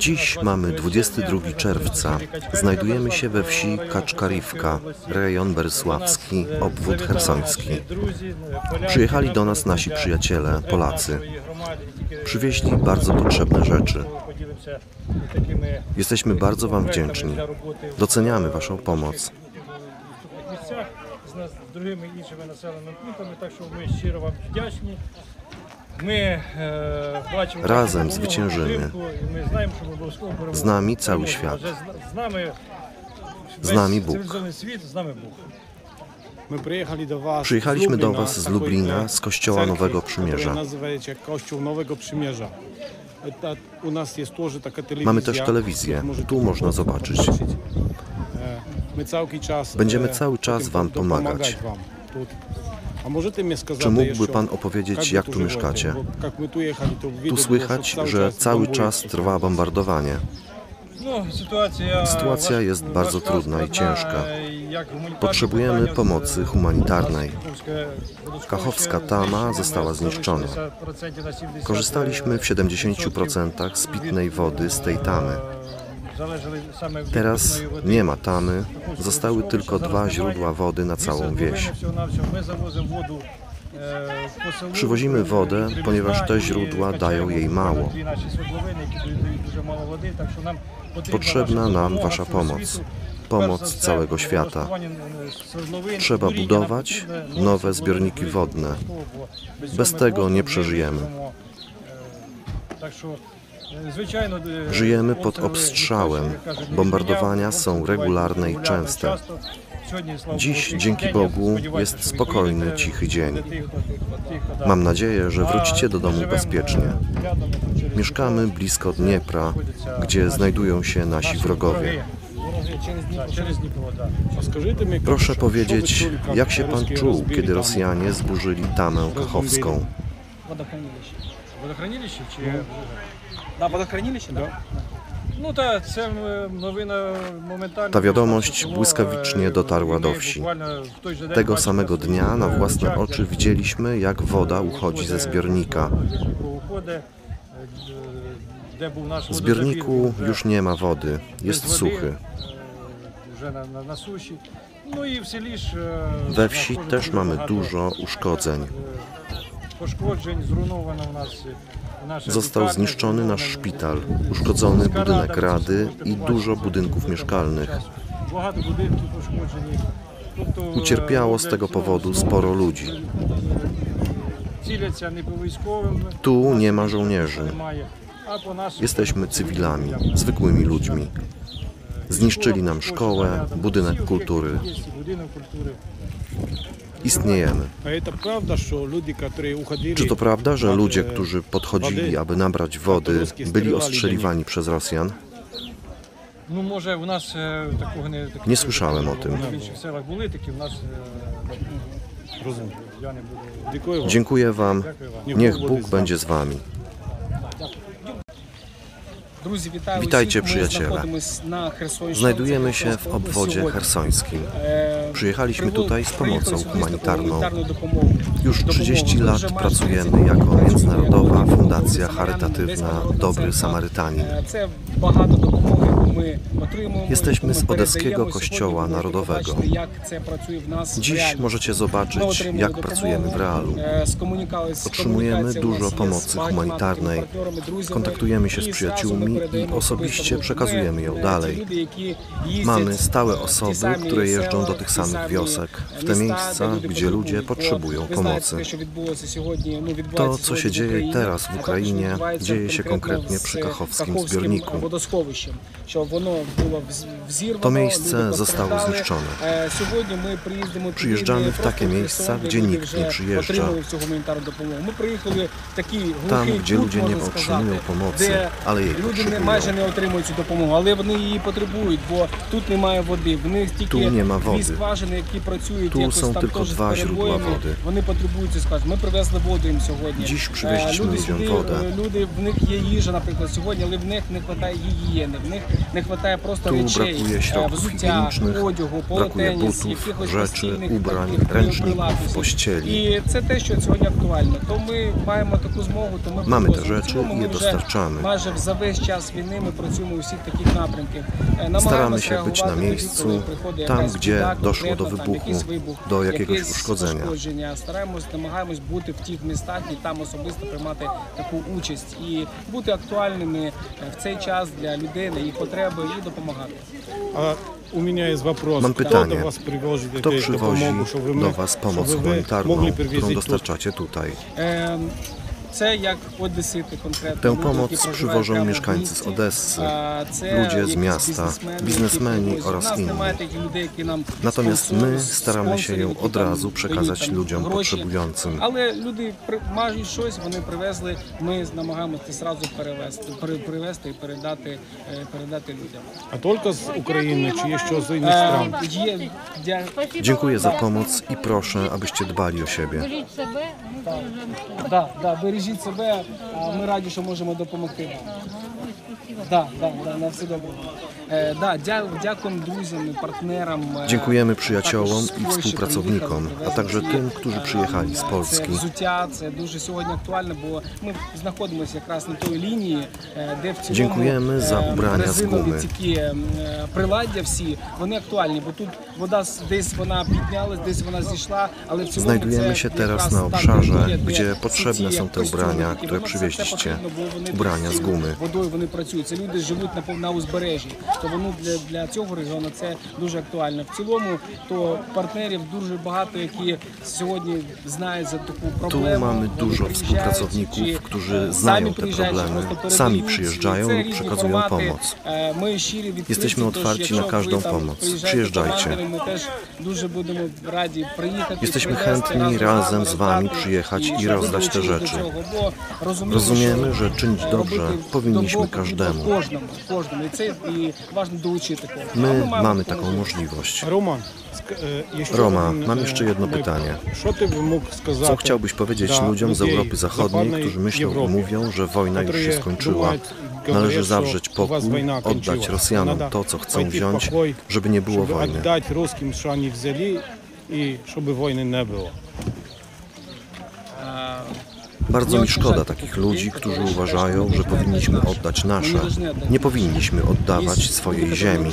Dziś mamy 22 czerwca. Znajdujemy się we wsi Kaczkarivka, rejon berysławski, obwód chersoński. Przyjechali do nas nasi przyjaciele, Polacy. Przywieźli bardzo potrzebne rzeczy. Jesteśmy bardzo Wam wdzięczni. Doceniamy Waszą pomoc. Razem zwyciężymy. Z nami cały świat. Z nami Bóg. Przyjechaliśmy do Was z Lublina, z Kościoła Nowego Przymierza. Mamy też telewizję. Tu można zobaczyć. Będziemy cały czas Wam pomagać. Czy mógłby Pan opowiedzieć, jak tu mieszkacie? Tu słychać, że cały czas trwa bombardowanie. Sytuacja jest bardzo trudna i ciężka. Potrzebujemy pomocy humanitarnej. Kachowska tama została zniszczona. Korzystaliśmy w 70% z pitnej wody z tej tamy. Teraz nie ma tamy, zostały tylko 2 źródła wody na całą wieś. Przywozimy wodę, ponieważ te źródła dają jej mało. Potrzebna nam Wasza pomoc, pomoc całego świata. Trzeba budować nowe zbiorniki wodne. Bez tego nie przeżyjemy. Żyjemy pod obstrzałem. Bombardowania są regularne i częste. Dziś, dzięki Bogu, jest spokojny, cichy dzień. Mam nadzieję, że wrócicie do domu bezpiecznie. Mieszkamy blisko Dniepra, gdzie znajdują się nasi wrogowie. Proszę powiedzieć, jak się Pan czuł, kiedy Rosjanie zburzyli tamę kachowską? Ta wiadomość błyskawicznie dotarła do wsi. Tego samego dnia na własne oczy widzieliśmy, jak woda uchodzi ze zbiornika. W zbiorniku już nie ma wody, jest suchy. We wsi też mamy dużo uszkodzeń. Został zniszczony nasz szpital, uszkodzony budynek rady i dużo budynków mieszkalnych. Ucierpiało z tego powodu sporo ludzi. Tu nie ma żołnierzy. Jesteśmy cywilami, zwykłymi ludźmi. Zniszczyli nam szkołę, budynek kultury. Istniejemy. Czy to prawda, że ludzie, którzy podchodzili, aby nabrać wody, byli ostrzeliwani przez Rosjan? Nie słyszałem o tym. Dziękuję Wam. Niech Bóg będzie z Wami. Witajcie, przyjaciele. Znajdujemy się w obwodzie chersońskim. Przyjechaliśmy tutaj z pomocą humanitarną. Już 30 lat pracujemy jako międzynarodowa fundacja charytatywna Dobry Samarytanin. Jesteśmy z Odeskiego Kościoła Narodowego. Dziś możecie zobaczyć, jak pracujemy w realu. Otrzymujemy dużo pomocy humanitarnej, kontaktujemy się z przyjaciółmi i osobiście przekazujemy ją dalej. Mamy stałe osoby, które jeżdżą do tych samych wiosek, w te miejsca, gdzie ludzie potrzebują pomocy. To, co się dzieje teraz w Ukrainie, dzieje się konkretnie przy kachowskim zbiorniku. To miejsce zostało zniszczone. Przyjeżdżamy w takie miejsca, gdzie nikt nie przyjeżdża. Tam, gdzie ludzie nie otrzymują pomocy, ale jej potrzebują. Tu nie ma wody. Tu są tylko 2 źródła wody. Dziś przywieźliśmy ludziom wodę. Tu brakuje środków higienicznych, brakuje butów, rzeczy, ubrań, ręczników, pościeli. Mamy te rzeczy i je dostarczamy. Staramy się być na miejscu, tam gdzie doszło do wybuchu, do jakiegoś uszkodzenia. Намагаємось бути в тих містах і там особисто приймати таку участь і бути актуальними в цей час для людей, на їх потреби і допомагати. Mam pytanie, kto przywozi do Was pomoc humanitarną, którą dostarczacie tutaj? Tę pomoc przywożą mieszkańcy z Odessy, ludzie z miasta, biznesmeni oraz inni. Natomiast my staramy się ją od razu przekazać ludziom potrzebującym. Ale ludzie mają coś, вони привезли, ми намагаємося зразу привезти і передати людям. A tylko z Ukrainy, czy jeszcze z innych stron? Dziękuję za pomoc i proszę, abyście dbali o siebie. Бережіть себе, ми раді, що можемо допомогти вам. На все добре. Дякуємо друзям і партнерам. Dziękujemy przyjaciołom i współpracownikom, a także tym, którzy przyjechali z Polski. Це дуже сьогодні актуально, бо ми знаходимося якраз на той лінії, де в цілому Dziękujemy za ubrania z gumy. такі приладдя всі, вони актуальні, бо тут вода десь вона піднялась, десь вона зійшла, ale w цілому Znajdujemy się teraz na obszarze, gdzie potrzebne są te ubrania, które przywieźliście. Ubrania z gumy. Водою вони працюють. Це люди живуть на узбережжі. То воно для цього регіону це дуже актуально. В цілому, то партнерів дуже багато, які сьогодні знають за таку проблему. Tu mamy dużo współpracowników, którzy znają te problemy, sami przyjeżdżają lub przekazują pomoc. Jesteśmy otwarci na każdą pomoc. Przyjeżdżajcie. Jesteśmy chętni razem z Wami przyjechać i rozdać te rzeczy. Rozumiemy, że czynić dobrze powinniśmy każdemu. My mamy taką możliwość. Roma, mam jeszcze jedno pytanie. Co chciałbyś powiedzieć ludziom z Europy Zachodniej, którzy myślą i mówią, że wojna już się skończyła? Należy zawrzeć pokój, oddać Rosjanom to, co chcą wziąć, żeby nie było wojny. Bardzo mi szkoda takich ludzi, którzy uważają, że powinniśmy oddać nasze. Nie powinniśmy oddawać swojej ziemi.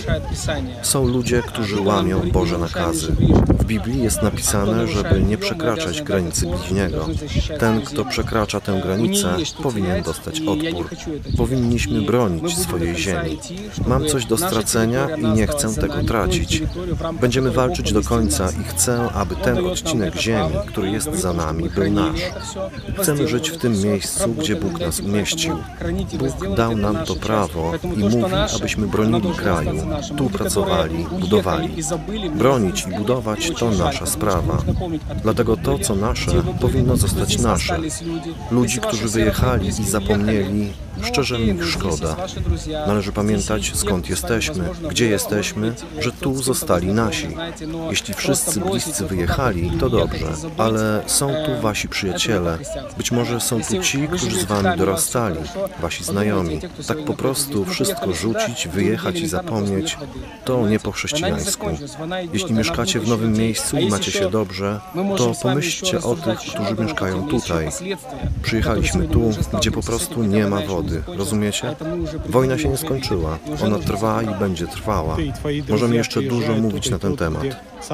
Są ludzie, którzy łamią Boże nakazy. W Biblii jest napisane, żeby nie przekraczać granicy bliźniego. Ten, kto przekracza tę granicę, powinien dostać odpór. Powinniśmy bronić swojej ziemi. Mam coś do stracenia i nie chcę tego tracić. Będziemy walczyć do końca i chcę, aby ten odcinek ziemi, który jest za nami, był nasz. Chcemy żyć w tym miejscu, gdzie Bóg nas umieścił. Bóg dał nam to prawo i mówi, abyśmy bronili kraju, tu pracowali, budowali. Bronić i budować to nasza sprawa. Dlatego to, co nasze, powinno zostać nasze. Ludzi, którzy wyjechali i zapomnieli, szczerze mi ich szkoda. Należy pamiętać, skąd jesteśmy, gdzie jesteśmy, że tu zostali nasi. Jeśli wszyscy bliscy wyjechali, to dobrze, ale są tu wasi przyjaciele. Być może są tu ci, którzy z wami dorastali, wasi znajomi. Tak po prostu wszystko rzucić, wyjechać i zapomnieć, to nie po chrześcijańsku. Jeśli mieszkacie w nowym miejscu i macie się dobrze, to pomyślcie o tych, którzy mieszkają tutaj. Przyjechaliśmy tu, gdzie po prostu nie ma wody. Rozumiecie? Wojna się nie skończyła. Ona trwa i będzie trwała. Możemy jeszcze dużo mówić na ten temat.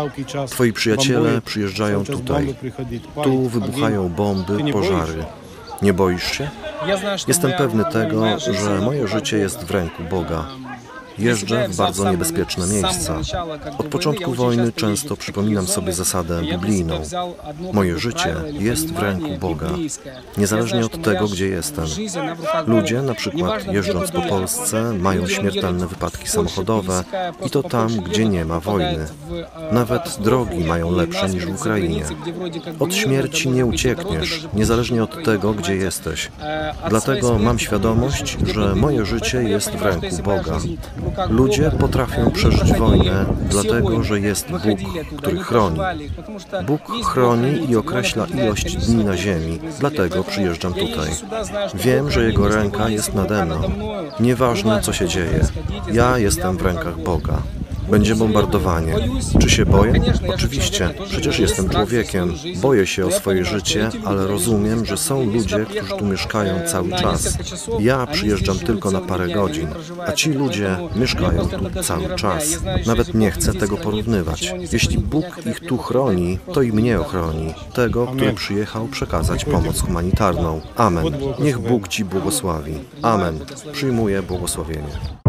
Twoi przyjaciele przyjeżdżają tutaj. Tu wybuchają bomby, pożary. Nie boisz się? Jestem pewny tego, że moje życie jest w ręku Boga. Jeżdżę w bardzo niebezpieczne miejsca. Od początku wojny często przypominam sobie zasadę biblijną. Moje życie jest w ręku Boga, niezależnie od tego, gdzie jestem. Ludzie, na przykład jeżdżąc po Polsce, mają śmiertelne wypadki samochodowe i to tam, gdzie nie ma wojny. Nawet drogi mają lepsze niż w Ukrainie. Od śmierci nie uciekniesz, niezależnie od tego, gdzie jesteś. Dlatego mam świadomość, że moje życie jest w ręku Boga. Ludzie potrafią przeżyć wojnę, dlatego że jest Bóg, który chroni. Bóg chroni i określa ilość dni na ziemi, dlatego przyjeżdżam tutaj. Wiem, że Jego ręka jest nade mną. Nieważne, co się dzieje, ja jestem w rękach Boga. Będzie bombardowanie. Czy się boję? Oczywiście, przecież jestem człowiekiem. Boję się o swoje życie, ale rozumiem, że są ludzie, którzy tu mieszkają cały czas. Ja przyjeżdżam tylko na parę godzin, a ci ludzie mieszkają tu cały czas. Nawet nie chcę tego porównywać. Jeśli Bóg ich tu chroni, to i mnie ochroni. Tego, który przyjechał przekazać pomoc humanitarną. Amen. Niech Bóg Ci błogosławi. Amen. Przyjmuję błogosławienie.